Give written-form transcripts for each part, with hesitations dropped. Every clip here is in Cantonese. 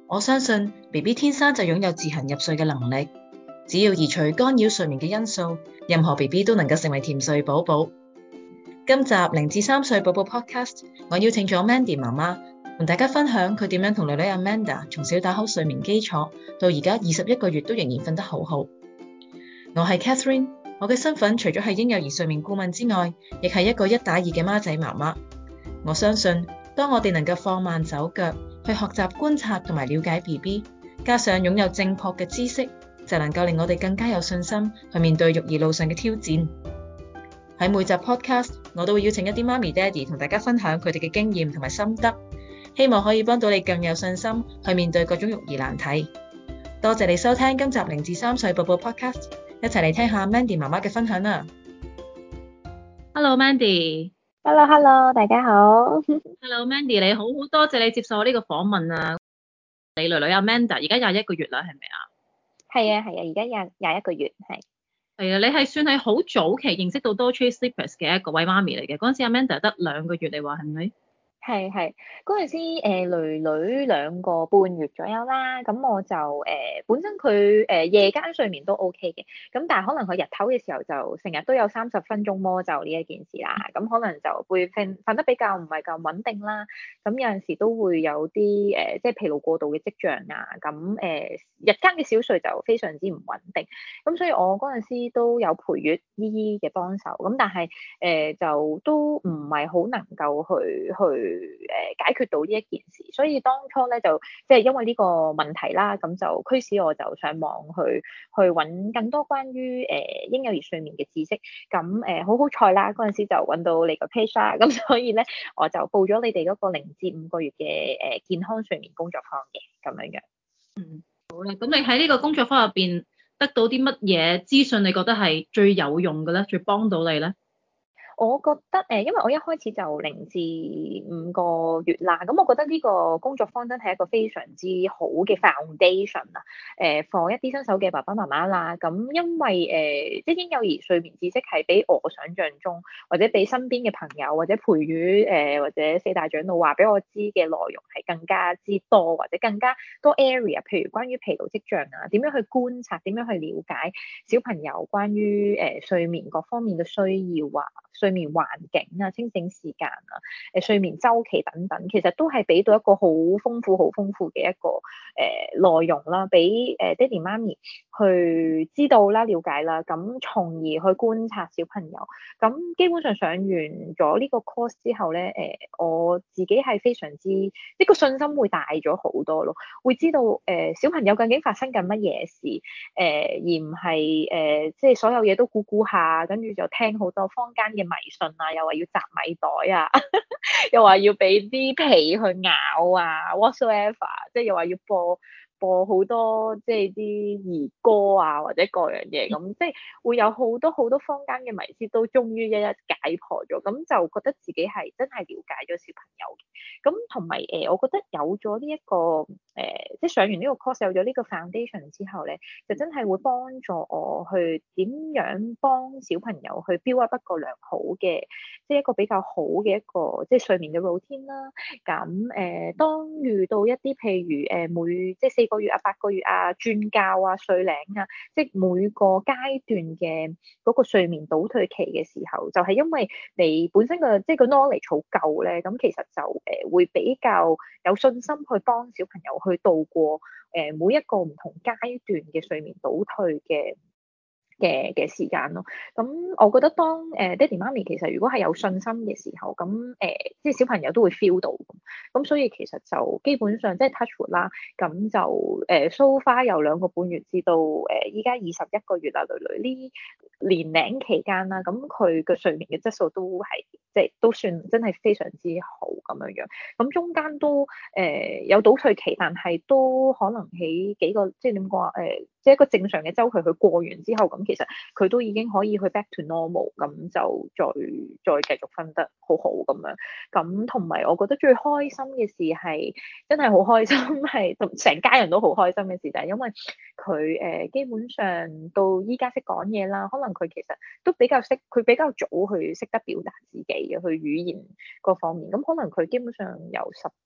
我相信 BB 天生就擁有自行入睡嘅能力，只要移除干擾睡眠嘅因素，任何 BB 都能夠成為甜睡寶寶。今集0至3歲寶寶 Podcast， 我邀請咗 Mandy 媽媽同大家分享佢點樣同女女 Amanda 從小打好睡眠基礎，到而家21個月都仍然瞓得好好。我係 Catherine， 我嘅身份除咗係嬰幼兒睡眠顧問之外，亦係一個1打2嘅媽仔媽媽。我相信當我哋能夠放慢手腳去學習觀察同埋了解 BB， 加上擁有正確嘅知識，就能夠令我哋更加有信心去面對育兒路上嘅挑戰。喺每集 podcast， 我都會邀請一啲媽咪爹哋同大家分享佢哋嘅經驗同埋心得，希望可以幫到你更有信心去面對各種育兒難題。多謝你收聽今集0至3歲寶寶 podcast， 一齊嚟聽下 Mandy 媽媽嘅分享啦。Hello Mandy。Hello， 大家好。 Hello Mandy， 你好，好多謝你接受我呢個訪問啊。你女女 Amanda 而家21個月啦，係咪啊？ 係啊，而家21個月，係啊，你係算係好早期認識到 Dough-Treat Sleepers 嘅一個位媽咪嚟嘅。嗰陣時 Amanda 得2個月，你話係咪？ 係嗰陣時，女女2個半月左右啦。咁我就本身佢夜間睡眠都 OK 嘅，咁但係可能佢日頭嘅時候就成日都有30分鐘魔咒呢一件事啦。咁可能就會瞓得比較唔係咁穩定啦。咁有陣時都會有啲即係疲勞過度嘅跡象啊。咁日間嘅小睡就非常之唔穩定。咁所以我嗰陣時都有陪月姨姨嘅幫手。咁但係就都唔係好能夠去解決到呢一件事，所以當初咧就即係因為呢個問題啦，咁就驅使我就上網去揾更多關於嬰幼兒睡眠嘅知識。咁好彩啦，嗰陣時就揾到你個 page 啦，咁所以咧我就報咗你哋嗰個0至5個月嘅健康睡眠工作坊嘅咁樣樣。 好啦，咁你喺呢個工作坊入邊得到啲乜嘢資訊？你覺得係最有用嘅咧，最幫到你咧？ 我覺得因為我一開始就0至5個月啦，咁我覺得呢個工作坊真係一個非常之好嘅 foundation 啊，for 一啲新手嘅爸爸媽媽啦。咁因為即係嬰幼兒睡眠知識係比我想象中，或者比身邊嘅朋友或者陪月或者4大長老話俾我知嘅內容係更加之多，或者更加多 area， 譬如關於疲勞跡象啊，點樣去觀察，點樣去了解小朋友關於睡眠各方面嘅需要啊，睡眠環境啊、清醒時間啊、睡眠週期等等，其實都係俾到一個好豐富嘅一個內容啦，俾爹哋媽咪去知道啦、了解啦，咁從而去觀察小朋友。咁基本上上完咗呢個 course 之後咧，我自己係非常之呢個信心會大咗好多咯，會知道小朋友究竟發生緊乜嘢事，而唔係即係所有嘢都估下，跟住就聽好多坊間嘅迷信啊，又話要摘米袋啊，又話要俾啲皮去咬啊 whatsoever， 即係又話要播好多即係啲兒歌啊，或者各樣嘢咁，即係會有好多坊間嘅迷思都終於一一解破咗，咁就覺得自己係真係了解咗小朋友嘅。咁同埋我覺得有咗呢一個即係上完呢個 course 有咗呢個 foundation 之後咧，就真係會幫助我去點樣幫小朋友去 build up 一個良好嘅，即係一個比較好嘅一個即係睡眠嘅 routine 啦。咁當遇到一啲譬如每即係4個月啊、8個月啊、轉覺啊、睡齡啊，即係每個階段嘅嗰個睡眠倒退期嘅時候，就係因為你本身嘅即係個 knowledge 好夠咧，咁其實就會比較有信心去幫小朋友去度過每一個唔同階段嘅睡眠倒退嘅時間咯。咁我覺得當爹哋媽咪其實如果係有信心嘅時候，咁即係小朋友都會 feel 到。咁所以其實就基本上即係 touch wood 啦，咁就so far 由2個半月至到依家21個月啦，女女呢年齡期間啦，咁佢嘅睡眠嘅質素都係即係都算真係非常之好咁樣樣。咁中間都有倒退期，但係都可能喺幾個即係點講啊即係一個正常嘅週期，佢過完之後，咁其實佢都已經可以去 back to normal，咁就再繼續瞓得好好咁樣。咁同埋我覺得最開心嘅事係真係好開心，係同成家人都好開心嘅事，就係因為佢基本上到依家識講嘢啦，可能佢其實都比較識，佢比較早去識得表達自己嘅，去語言各方面。咁可能佢基本上由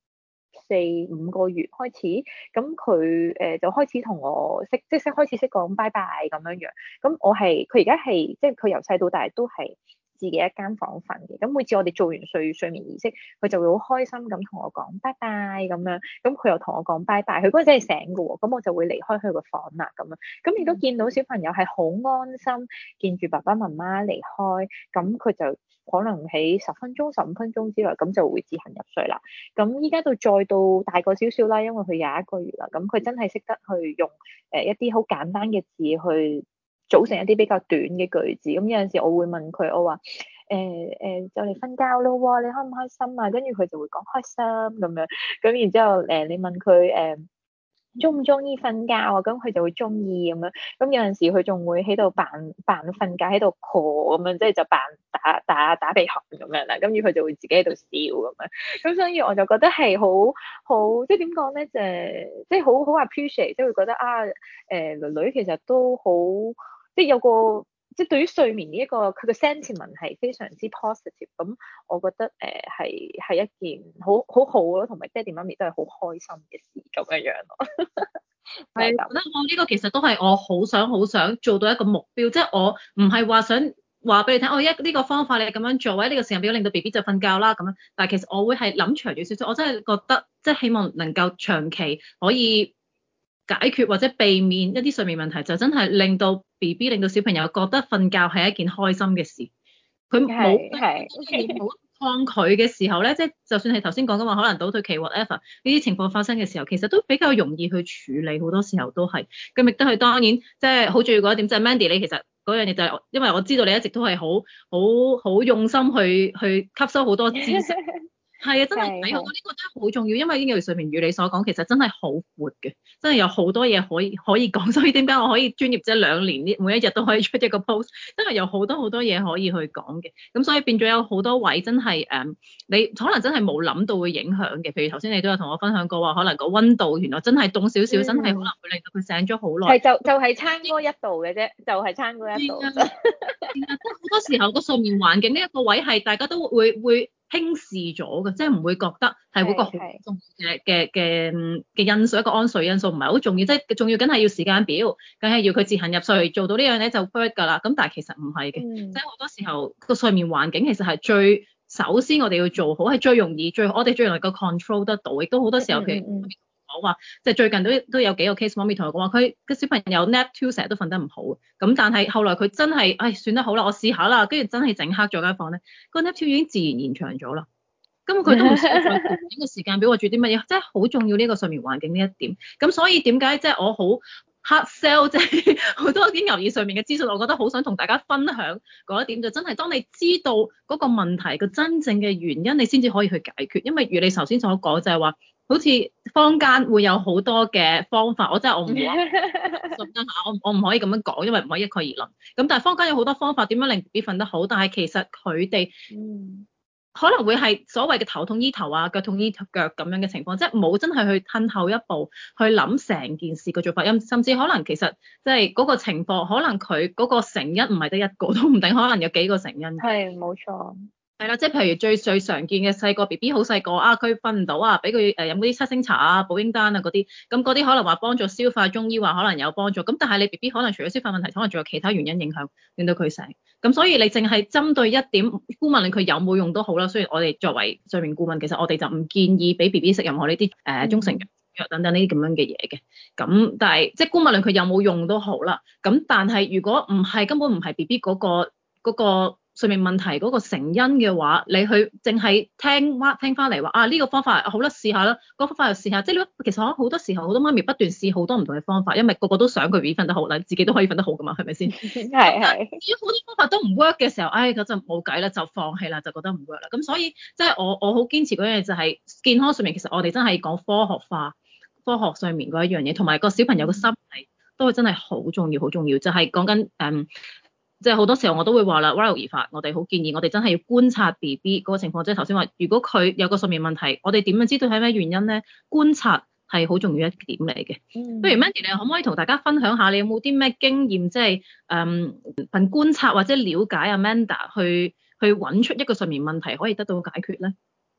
4-5個月開始，咁佢就開始同我開始識講拜拜咁樣樣。咁佢而家係即係佢由細到大都係自己一間房瞓嘅。咁每次我哋做完睡眠儀式，佢就會好開心咁同我講拜拜咁樣。咁佢又同我講拜拜，佢嗰陣真係醒㗎喎。咁我就會離開佢個房啦咁樣。咁亦都見到小朋友係好安心，見住爸爸媽媽離開，咁佢就可能喺10分鐘、15分鐘之內，咁就會自行入睡啦。咁依家再到大個少少啦，因為佢21個月啦，咁佢真係識得去用一啲好簡單嘅字去組成一啲比較短嘅句子。咁有陣時我會問佢，我話就嚟瞓覺咯喎，你開唔開心啊？跟住佢就會講開心咁樣。咁然之後你問佢中唔中意瞓覺啊？咁佢就會中意咁樣。咁有陣時佢仲會喺度扮瞓覺，喺度 call 咁樣，即係就扮打鼻鼾咁樣啦。跟住佢就會自己喺度笑咁樣。咁所以我就覺得係好即係點講咧？即係好 appreciate，即係會覺得女女其實都好即係有個即係對於睡眠呢一個佢嘅 sentiment 係非常之 positive。咁我覺得係一件好咯，同埋爹哋媽咪都係好開心嘅事咁樣樣咯。 係，覺得我呢個其實都係我好想做到一個目標，即係我唔係話想話俾你聽，呢個方法你咁樣做，或者呢個時間表令到 BB 就瞓覺啦咁樣。但係其實我會係諗長遠少少，我真係覺得即係希望能夠長期可以解決或者避免一啲睡眠問題，就真係令到 BB 令到小朋友覺得瞓覺係一件開心嘅事。佢冇抗拒嘅時候咧，即係就算係頭先講嘅話，可能倒退期 whatever 呢啲情況發生嘅時候，其實都比較容易去處理，好多時候都係。咁亦都係當然，即係好重要嗰一點，就係 Mandy 你其實嗰樣嘢就係，因為我知道你一直都係好用心去吸收好多知識。係啊，真係睇好多呢個真係好重要，因為嬰兒睡眠如你所講，其實真係好闊嘅，真係有好多嘢可以講。所以點解我可以專業即係2年呢，每一日都可以出一個 post，真係有好多嘢可以去講嘅。咁所以變咗有好多位真係你可能真係冇諗到會影響嘅。譬如頭先你都有同我分享過話，可能個溫度原來真係凍少少，真係可能會令到佢醒咗好耐。 係就係差嗰1度嘅啫，就係差嗰1度。 即係好多時候個睡眠環境呢一個位係大家都會輕視咗嘅，即係唔會覺得係嗰個好重要嘅因素，一個安睡因素唔係好重要，即係重要梗係要時間表，梗係要佢自行入睡，做到呢樣咧就 work 㗎啦。咁但係其實唔係嘅，即係好多時候個睡眠環境其實係首先我哋要做好，係最容易我哋最能夠 control 得到，亦都好多時候譬如講話，即係最近都有幾個 case，媽咪同我講話，佢個小朋友 nap 2成日都瞓得唔好，咁但係後來佢真係，算得好啦，我試下啦，跟住真係整黑咗間房咧，個 nap 2已經自然延長咗啦，根本佢都唔需要再調整個時間表，我做啲乜嘢，真係好重要呢個睡眠環境呢一點。咁所以點解即係我好 hard sell，即係好多啲嬰兒睡眠嘅資訊，我覺得好想同大家分享嗰一點，就真係當你知道嗰個問題個真正嘅原因，你先至可以去解決。因為如你頭先所講就係話，好似坊間會有好多嘅方法，我唔會話信得下，我唔可以咁樣講，因為唔可以一概而論。咁但係坊間有好多方法點樣令 BB 瞓得好，但係其實佢哋可能會係所謂嘅頭痛醫頭啊，腳痛醫腳咁樣嘅情況，即係冇真係去褪後一步去諗成件事嘅做法，甚至可能其實即係嗰個情況，可能佢嗰個成因唔係得一個都唔定，可能有幾個成因。 係冇錯。 係啦，即係譬如最常見嘅細個 BB 好細個啊，佢瞓唔到啊，俾佢飲嗰啲7星茶啊、保嬰丹啊嗰啲，咁嗰啲可能話幫助消化，中醫話可能有幫助，咁但係你 BB 可能除咗消化問題，可能仲有其他原因影響，令到佢醒。咁所以你淨係針對一點，姑勿論佢有冇用都好啦。雖然我哋作為睡眠顧問，其實我哋就唔建議俾 BB 食任何呢啲中成藥等等呢啲咁樣嘅嘢嘅。咁但係即係姑勿論佢有冇用都好啦。咁但係如果唔係根本唔係 BB 嗰個睡眠問題嗰個成因嘅話，你去淨係聽翻嚟話呢個方法好啦，試下啦，嗰個方法又試下，即係其實好多時候好多媽咪不斷試好多唔同嘅方法，因為個個都想佢 BB 瞓得好啦，自己都可以瞓得好噶嘛，係咪先？ 係。 至於好多方法都唔 work 嘅時候，嗰陣冇計啦，就放棄啦，就覺得唔 work 啦。咁所以即係我好堅持嗰樣嘢就係健康睡眠，其實我哋真係講科學化、科學睡眠嗰一樣嘢，同埋個小朋友嘅心理都係真係好重要，好重要，就係講緊即係好多時候我都會話啦 Riley 而發，我哋好建議我哋真係要觀察 BB 嗰個情況，即係頭先話，如果佢有個睡眠問題，我哋點樣知道係咩原因咧？觀察係好重要一點嚟嘅。不如 Mandy 你可唔可以同大家分享下，你有冇啲咩經驗，即係憑觀察或者了解Amanda 去揾出一個睡眠問題可以得到解決咧？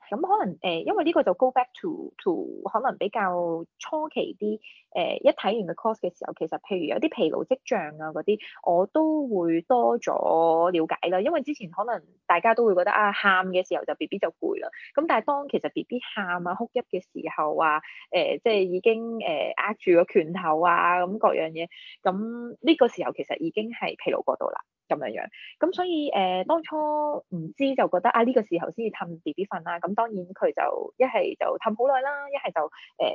咁可能因為呢個就 go back to 可能比較初期啲一睇完個 course 嘅時候，其實譬如有啲疲勞跡象啊嗰啲，我都會多咗了解啦。因為之前可能大家都會覺得啊，喊嘅時候就 BB 就攰啦。咁但係當其實 BB 喊啊哭泣嘅時候啊，即係已經握住個拳頭啊咁各樣嘢，咁呢個時候其實已經係疲勞過度啦。咁樣樣，咁所以當初唔知就覺得啊呢個時候先至氹 BB 瞓啦，咁當然佢就一係就氹好耐啦，一係就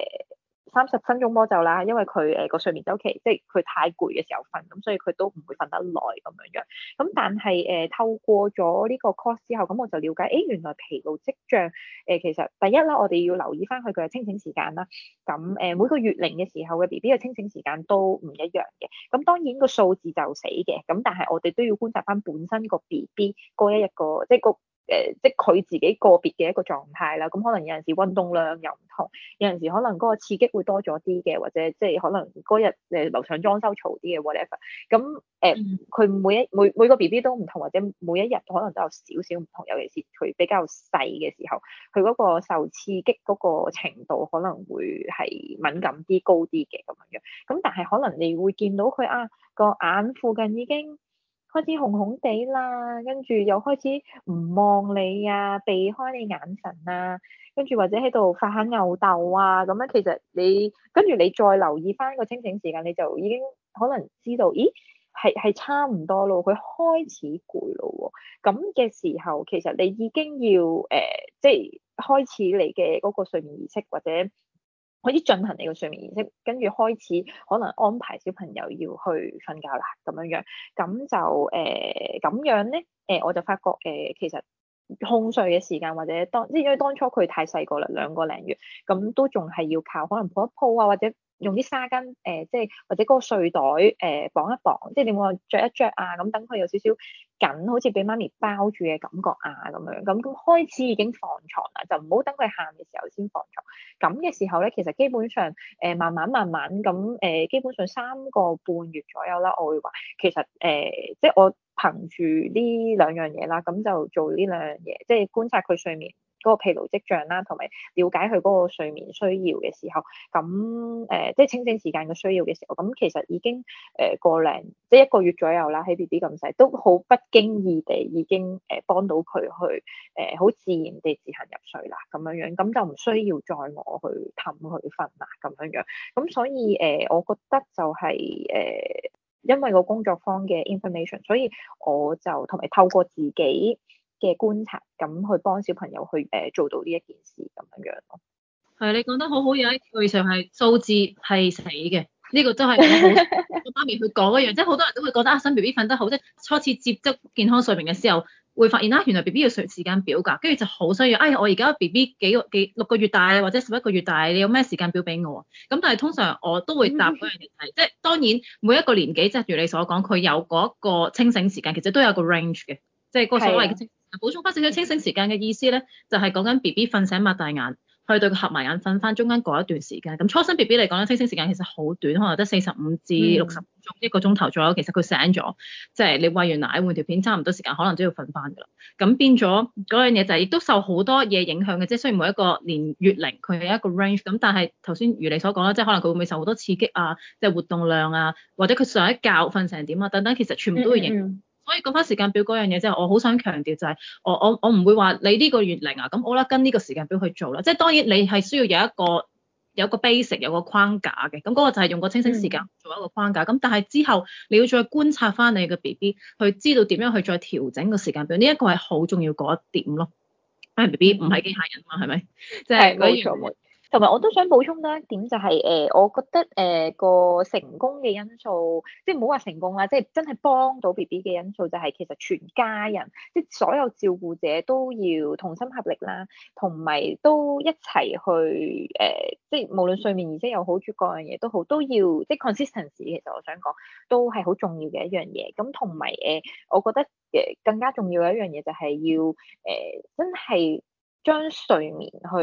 30分鐘魔咒啦，因為佢個睡眠週期即係佢太攰嘅時候瞓，咁所以佢都唔會瞓得耐咁樣樣。咁但係透過咗呢個 course 之後，咁我就了解，原來疲勞跡象其實第一啦，我哋要留意翻佢嘅清醒時間啦。咁每個月齡嘅時候嘅 BB 嘅清醒時間都唔一樣嘅。咁當然個數字就死嘅，咁但係我哋都要觀察翻本身個 BB 嗰一個即係個。即係佢自己個別嘅一個狀態啦，咁可能有陣時運動量又唔同，有陣時可能嗰個刺激會多咗啲嘅，或者即係可能嗰日樓上裝修嘈啲嘅 whatever，咁佢每個 BB 都唔同，或者每一日可能都有少少唔同，尤其是佢比較細嘅時候，佢嗰個受刺激嗰個程度可能會係敏感啲、高啲嘅咁樣樣，咁但係可能你會見到佢個眼附近已經開始紅紅地啦，跟住又開始唔望你啊，避開你眼神啊，跟住或者喺度發下吽哣啊，咁樣其實你跟住你再留意翻個清醒時間，你就已經可能知道，咦係差唔多咯，佢開始攰咯喎，咁嘅時候其實你已經要即係開始你嘅嗰個睡眠儀式或者。開始進行你個睡眠儀式，跟住開始可能安排小朋友要去瞓覺啦，咁樣樣，咁就咁樣咧，我就發覺其實控睡嘅時間或者即係因為當初佢太細個啦，2個零月，咁都仲係要靠可能抱一抱啊，或者用啲紗巾即係或者嗰個睡袋綁一綁，即係你冇話着一着啊，咁等佢有少少緊，好似俾媽咪包住嘅感覺啊，咁樣咁開始已經放床啦，就唔好等佢喊嘅時候先放床。咁嘅時候咧，其實基本上慢慢咁基本上3個半月左右啦，我會話其實即係我憑住呢2樣嘢啦，咁就做呢2樣嘢，即係觀察佢睡眠嗰個疲勞跡象啦，同埋了解佢嗰個睡眠需要嘅時候，咁即係清醒時間嘅需要嘅時候，咁其實已經即係1個月左右啦，喺 BB 咁細，都好不經意地已經幫到佢去好自然地自行入睡啦，咁樣樣，咁就唔需要再我去氹佢瞓啦，咁樣樣，咁所以我覺得就係因為個工作坊嘅 information，所以我就同埋透過自己嘅觀察，咁去幫小朋友去做到呢一件事咁樣樣咯。 係，你講得好好，有一句就係數字係死嘅，呢個都係我好我媽咪去講一樣，即係好多人都會覺得新 BB 瞓得好，即係初次接觸健康睡眠嘅時候，會發現原來 BB 要睡時間表㗎，跟住就好需要，我而家 BB 6個月大或者11個月大，你有咩時間表俾我啊？咁但係通常我都會答嗰樣嘢係，即係當然每一個年紀，即係如你所講，佢有嗰個清醒時間，其實都有個 range 嘅，即係個所謂嘅清醒時間。補充翻少少清醒時間嘅意思咧，就係講緊 BB 瞓醒擘大眼。去到佢合埋眼瞓翻中間嗰一段時間，咁初生 BB 嚟講咧，清醒時間其實好短，可能得45至60分鐘，1個鐘頭左右。其實佢醒咗，即係你餵完奶換條片，差唔多時間，可能都要瞓翻㗎啦。咁變咗嗰樣嘢就係亦都受好多嘢影響嘅，即係雖然每一個年月齡佢係一個 range，咁但係頭先如你所講啦，即係可能佢會唔會受好多刺激啊，即係活動量啊，或者佢上一覺瞓成點啊等等，其實全部都會影響。所以講翻時間表嗰樣嘢，即係我好想強調就係，我唔會話你呢個月齡啊，咁我啦跟呢個時間表去做啦。即係當然你係需要有一個 basic 有個框架嘅，咁嗰個就係用個清醒時間做一個框架。咁但係之後你要再觀察翻你嘅 BB，去知道點樣去再調整個時間表，呢一個係好重要嗰一點咯。因為 BB 唔係機械人嘛，係咪？即係冇錯。同埋我都想補充多一點，就係我覺得個成功嘅因素，即係唔好話成功啦，即係真係幫到 BB 嘅因素，就係其實全家人，即係所有照顧者都要同心合力啦，同埋都一齊去即係無論睡眠儀式又好，各樣嘢都好，都要即係 consistency。其實我想講都係好重要嘅一樣嘢。咁同埋我覺得更加重要嘅一樣嘢就係要真係將睡眠去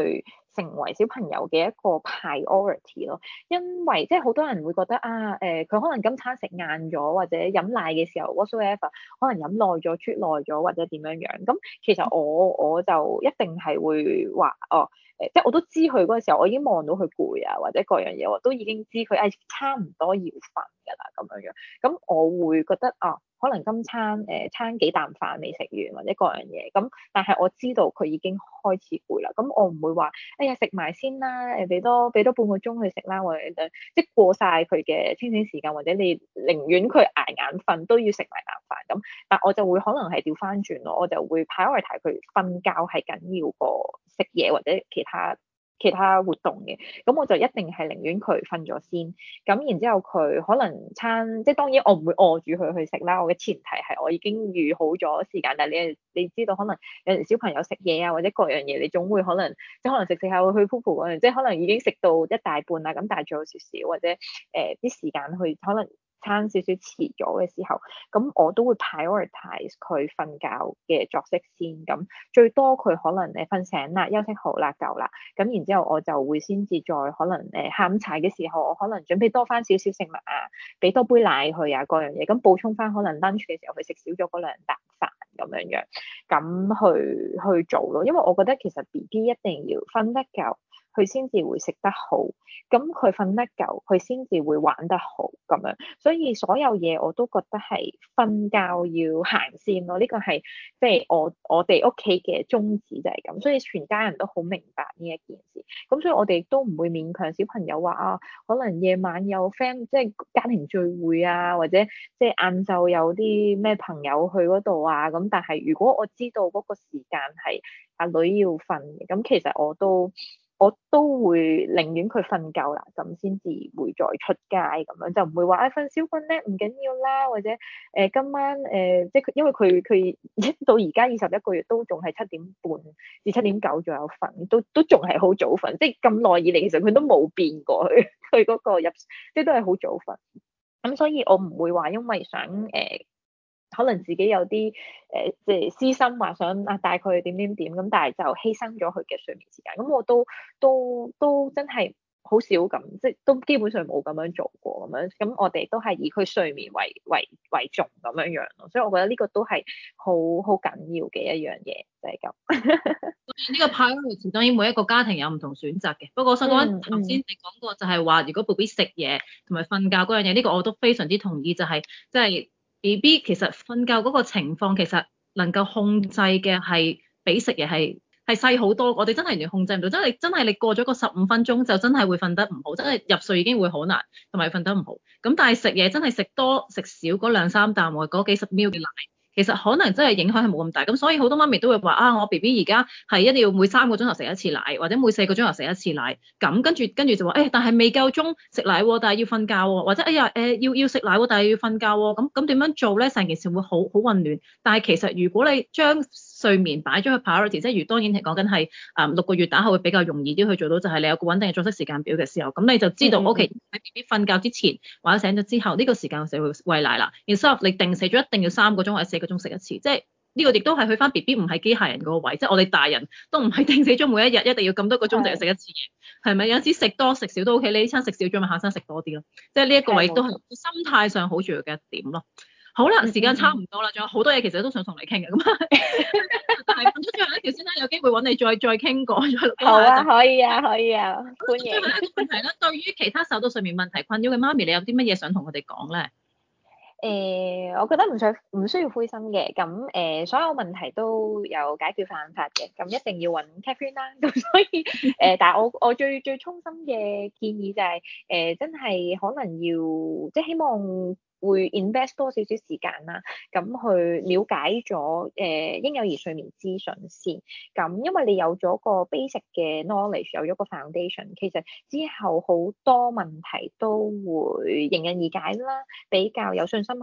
成為小朋友嘅一個 priority 咯。因為即係好多人會覺得啊，佢可能今餐食晏咗，或者飲奶嘅時候 whatsoever，可能飲耐咗、啜耐咗或者點樣樣。咁其實我就一定係會話哦。即係我都知佢嗰個時候，我已經望到佢攰啊，或者各樣嘢，我都已經知佢差唔多要瞓㗎啦咁樣樣。咁我會覺得啊，可能今餐餐幾啖飯未食完或者各樣嘢，咁但係我知道佢已經開始攰啦。咁我唔會話哎呀食埋先啦，俾多半個鐘去食啦，或者即係過晒佢嘅清醒時間，或者你寧願佢捱眼瞓都要食埋啖飯咁。但我就會可能係調翻轉咯，我就會 prioritize 佢瞓覺係緊要過食嘢或者其他活動嘅。咁我就一定係寧願佢瞓咗先，咁然之後佢可能餐，即係當然我唔會餓住佢去食啦。我嘅前提係我已經預好咗時間，但係你知道可能有陣小朋友食嘢啊或者各樣嘢，你總會可能即係可能食下會去 poo poo 嗰陣，即係可能已經食到一大半啦，咁但係仲有少少或者啲時間去可能餐少少遲咗嘅時候，咁我都會 prioritize 佢瞓覺嘅作息先。咁最多佢可能瞓醒啦，休息好啦，夠啦，咁然之後我就會先至再可能下午茶嘅時候，我可能準備多翻少少食物啊，俾多杯奶佢啊，各樣嘢，咁補充翻可能 lunch 嘅時候佢食少咗嗰兩啖飯咁樣樣，咁去做咯。因為我覺得其實 BB 一定要瞓得夠，佢先至會食得好，咁佢瞓得夠，佢先至會玩得好咁樣。所以所有嘢我都覺得係瞓覺要行先咯。呢個係即係我哋屋企嘅宗旨就係咁，所以全家人都好明白呢一件事。咁所以我哋都唔會勉強小朋友話啊，可能夜晚有 friend 即係家庭聚會啊，或者即係晏晝有啲咩朋友去嗰度啊。咁但係如果我知道嗰個時間係阿女要瞓嘅，咁其實我都會寧願佢瞓夠啦，咁先至會再出街咁樣，就唔會話瞓少瞓咧唔緊要啦，或者今晚即係因為佢到而家21個月都仲係7點半至7點9左右瞓，都仲係好早瞓，即係咁耐以嚟其實佢都冇變過佢嗰個即係都係好早瞓。咁所以我唔會話因為想可能自己有啲即係私心話想帶佢去點咁，但係就犧牲咗佢嘅睡眠時間。咁我都真係好少咁，即係都基本上冇咁樣做過咁樣。咁我哋都係以佢睡眠為重咁樣樣咯。所以我覺得呢個都係好緊要嘅一樣嘢，就係咁。 呢個 priority 當然每一個家庭有唔同選擇嘅。不過我想講頭先你講過就係話，如果 BB 食嘢同埋瞓覺嗰樣嘢，呢個我都非常之同意，就係即係 BB 其實瞓覺嗰個情況其實能夠控制嘅係比食嘢係細好多。我哋真係完全控制唔到，真係你過咗個15分鐘就真係會瞓得唔好，真係入睡已經會好難，同埋瞓得唔好。咁但係食嘢真係食多食少嗰兩三啖或嗰幾十 ml 嘅奶，其實可能真係影響係冇咁大。咁所以好多媽咪都會話啊，我 BB 而家係一定要每3個鐘頭食一次奶，或者每4個鐘頭食一次奶。咁跟住就話但係未夠鐘食奶喎，但係要瞓覺喎，或者要食奶喎，但係要瞓覺喎。咁點樣做咧？成件事會好混亂。但係其實如果你將睡眠擺咗去 priority，即係如當然係講緊係6個月打後會比較容易啲去做到，就係你有個穩定嘅作息時間表嘅時候，咁你就知道 OK 喺 BB 瞓覺之前或者醒咗之後呢個時間就會餵奶啦。然之後你定死咗一定要3個鐘或者4個鐘食一次，即係呢個亦都係去翻 BB 唔係機械人嗰個位，即係我哋大人都唔係定死咗每一日一定要咁多個鐘就要食一次嘢，係咪？有陣時食多食少都 OK，你呢餐食少咗咪下餐食多啲咯，即係呢一個位都係心態上好重要嘅一點咯。好啦，時間差唔多啦，仲有好多嘢其實都想同你傾嘅，咁但係問咗最後一條先啦，有機會揾你再傾過，再錄多下一集。 好啊，可以啊，歡迎。 最後一個問題啦，對於其他受到睡眠問題困擾嘅媽咪，你有啲乜嘢想同佢哋講咧？ 我覺得唔需要灰心嘅，咁所有問題都有解決辦法嘅，咁一定要揾 Catherine 啦，咁所以但係我最衷心嘅建議就係真係可能要即係希望會 invest 多少少時間啦，咁去了解咗嬰幼兒睡眠資訊先，咁因為你有咗個 basic 嘅 knowledge，有咗個 foundation，其實之後好多問題都會迎刃而解啦，比較有信心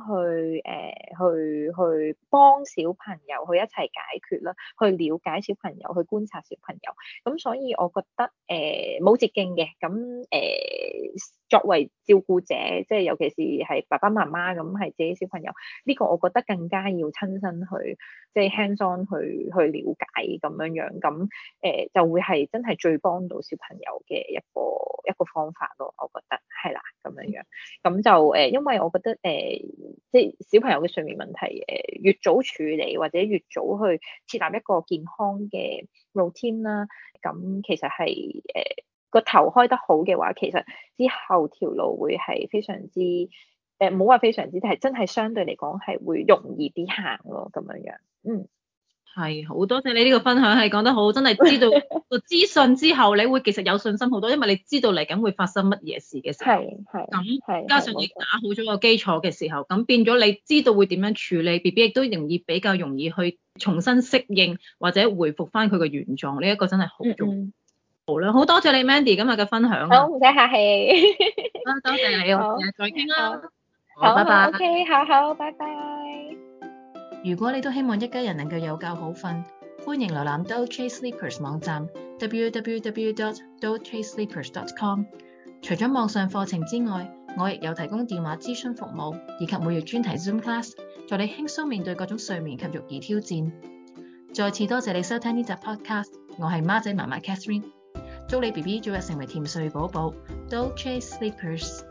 去幫小朋友去一齊解決啦，去了解小朋友，去觀察小朋友，咁所以我覺得冇捷徑嘅，咁作為照顧者，即係尤其是係爸爸媽媽咁係自己小朋友，呢個我覺得更加要親身去即係 hands on 去了解咁樣樣，咁就會係真係最幫到小朋友嘅一個方法咯，我覺得係啦咁樣樣。咁就因為我覺得即係小朋友嘅睡眠問題越早處理或者越早去設立一個健康嘅 routine 啦，咁其實係個頭開得好嘅話，其實之後條路會係非常之唔好話非常之，係真係相對嚟講係會容易啲行咯，咁樣樣。 係，好多謝你呢個分享，係講得好，真係知道個資訊之後，你會其實有信心好多，因為你知道嚟緊會發生乜嘢事嘅時候，咁加上你打好咗個基礎嘅時候，咁變咗你知道會點樣處理 BB，亦都比較容易去重新適應或者回復翻佢個原狀，呢一個真係好重要。好啦，好多謝你 Mandy 今日嘅分享。 好，唔使客氣。 多謝你，我哋再傾啦。 好， 拜拜。 OK，好，拜拜。 如果你都希望一家人能夠有覺好瞓，歡迎瀏覽 Doze Sleepers 網站 www.dozesleepers.com。除咗網上課程之外，我亦有提供電話諮詢服務，以及每月專題 Zoom class，助你輕鬆面對各種睡眠及育兒挑戰。再次多謝你收聽呢集 podcast， 我係孖仔媽媽 Catherine， 祝你 BB 早日成為甜睡寶寶 Doze Sleepers。